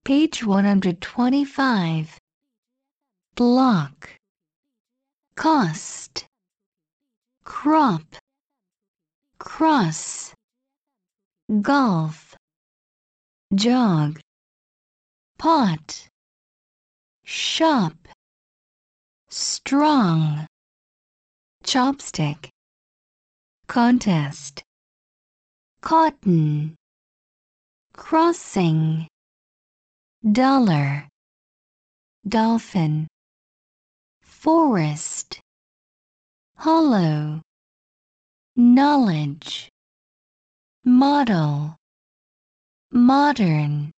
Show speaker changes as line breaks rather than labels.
Page 125. Block. Cost. Crop. Cross. Golf. Jog. Pot. Shop. Strong. Chopstick. Contest. Cotton. Crossing. Dollar. Dolphin. Forest. Hollow. Knowledge. Model. Modern.